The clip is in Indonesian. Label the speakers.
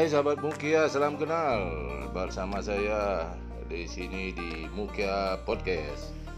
Speaker 1: Hai sahabat Mukia, salam kenal bersama saya di sini di Mukia Podcast.